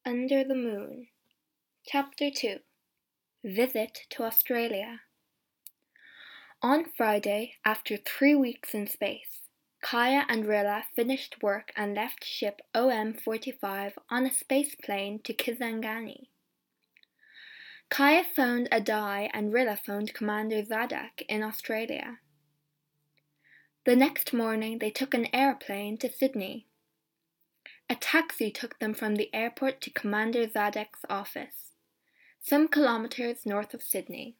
Under the Moon. Chapter 2. Visit to Australia. On Friday, after 3 weeks in space, Kaya and Rilla finished work and left ship OM-45 on a space plane to Kisangani. Kaya phoned Adai and Rilla phoned Commander Zadak in Australia. The next morning they took an airplane to Sydney. A taxi took them from the airport to Commander Zadak's office, some kilometers north of Sydney.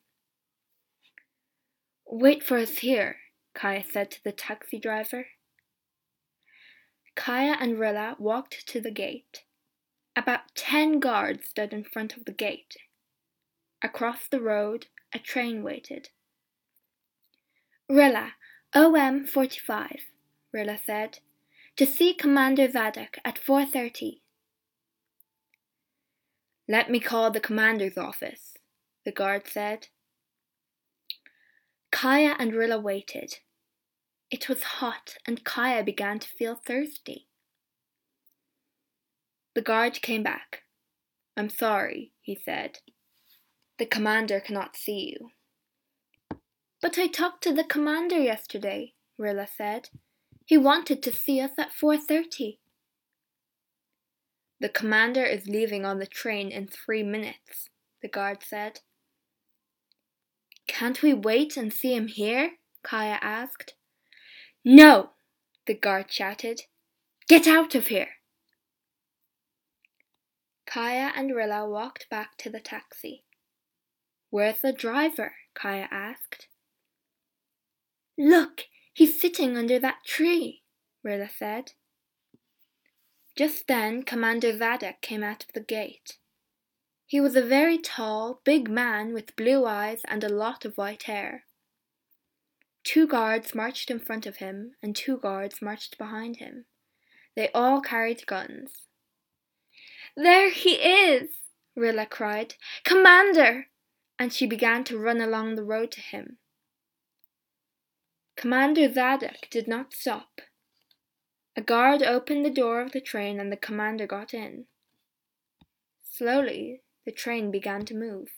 "Wait for us here," Kaya said to the taxi driver. Kaya and Rilla walked to the gate. About 10 guards stood in front of the gate. Across the road, a train waited. "Rilla, OM-45, Rilla said. "To see Commander Zadak at 4:30. "Let me call the commander's office," the guard said. Kaya and Rilla waited. It was hot and Kaya began to feel thirsty. The guard came back. "I'm sorry," he said. "The commander cannot see you." "But I talked to the commander yesterday," Rilla said. "He wanted to see us at 4:30. "The commander is leaving on the train in 3 minutes," the guard said. "Can't we wait and see him here?" Kaya asked. "No!" the guard shouted. "Get out of here!" Kaya and Rilla walked back to the taxi. "Where's the driver?" Kaya asked. "Look, he's sitting under that tree," Rilla said. Just then Commander Zadak came out of the gate. He was a very tall, big man with blue eyes and a lot of white hair. 2 guards marched in front of him and 2 guards marched behind him. They all carried guns. "There he is!" Rilla cried. "Commander!" And she began to run along the road to him. Commander Zadak did not stop. A guard opened the door of the train and the commander got in. Slowly, the train began to move.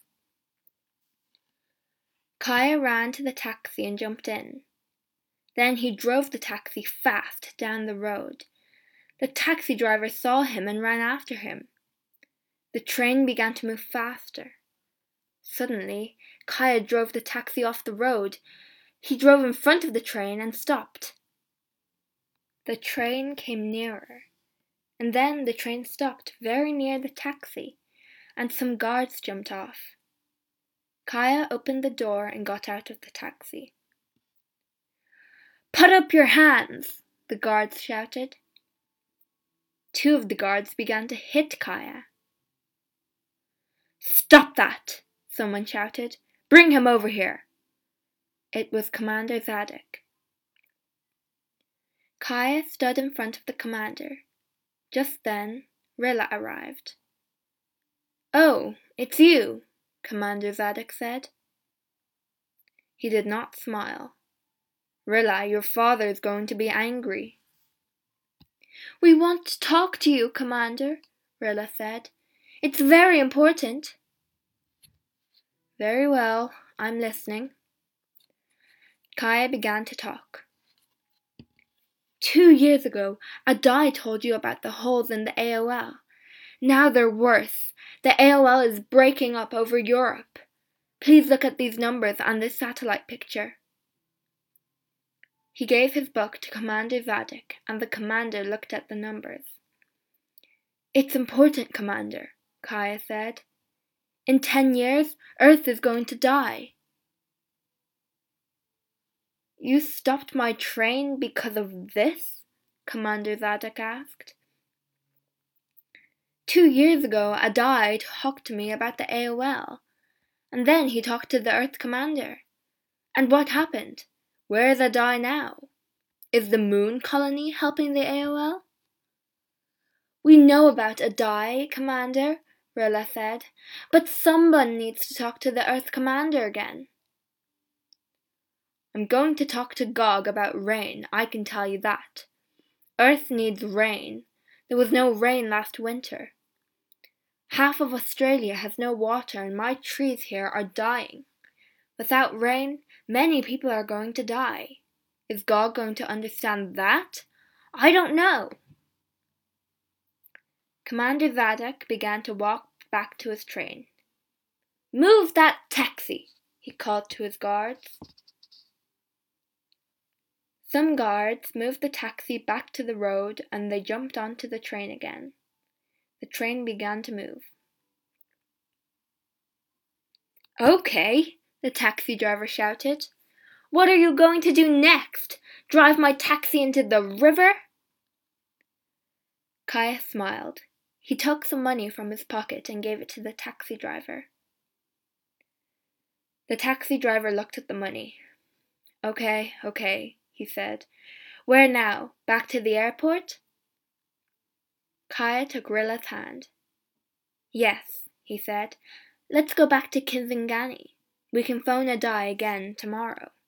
Kaya ran to the taxi and jumped in. Then he drove the taxi fast down the road. The taxi driver saw him and ran after him. The train began to move faster. Suddenly, Kaya drove the taxi off the road. He drove in front of the train and stopped. The train came nearer, and then the train stopped very near the taxi, and some guards jumped off. Kaya opened the door and got out of the taxi. "Put up your hands!" the guards shouted. 2 of the guards began to hit Kaya. "Stop that!" someone shouted. "Bring him over here!" It was Commander Zadak. Kaya stood in front of the commander. Just then, Rilla arrived. "Oh, it's you," Commander Zadak said. He did not smile. "Rilla, your father is going to be angry." "We want to talk to you, Commander," Rilla said. "It's very important." "Very well, I'm listening." Kaya began to talk. 2 years ago, Adai told you about the holes in the AOL. Now they're worse. The AOL is breaking up over Europe. Please look at these numbers on this satellite picture. He gave his book to Commander Zadak, and the commander looked at the numbers. "It's important, Commander," Kaya said. "In 10 years, Earth is going to die." "You stopped my train because of this?" Commander Zadak asked. 2 years ago, Adai talked to me about the AOL, and then he talked to the Earth commander. And what happened? Where is Adai now? Is the moon colony helping the AOL? "We know about Adai, Commander," Rilla said, "but someone needs to talk to the Earth commander again." "I'm going to talk to Gog about rain, I can tell you that. Earth needs rain. There was no rain last winter. Half of Australia has no water and my trees here are dying. Without rain, many people are going to die. Is God going to understand that? I don't know. Commander Zadok began to walk back to his train. Move that taxi, he called to his guards. Some guards moved the taxi back to the road and they jumped onto the train again. The train began to move. Okay, the taxi driver shouted. What are you going to do next? Drive my taxi into the river? Kaya smiled. He took some money from his pocket and gave it to the taxi driver. The taxi driver looked at the money. Okay, he said. Where now? Back to the airport? Kaya took Rilla's hand. Yes, he said. Let's go back to Kisangani. We can phone Adai again tomorrow.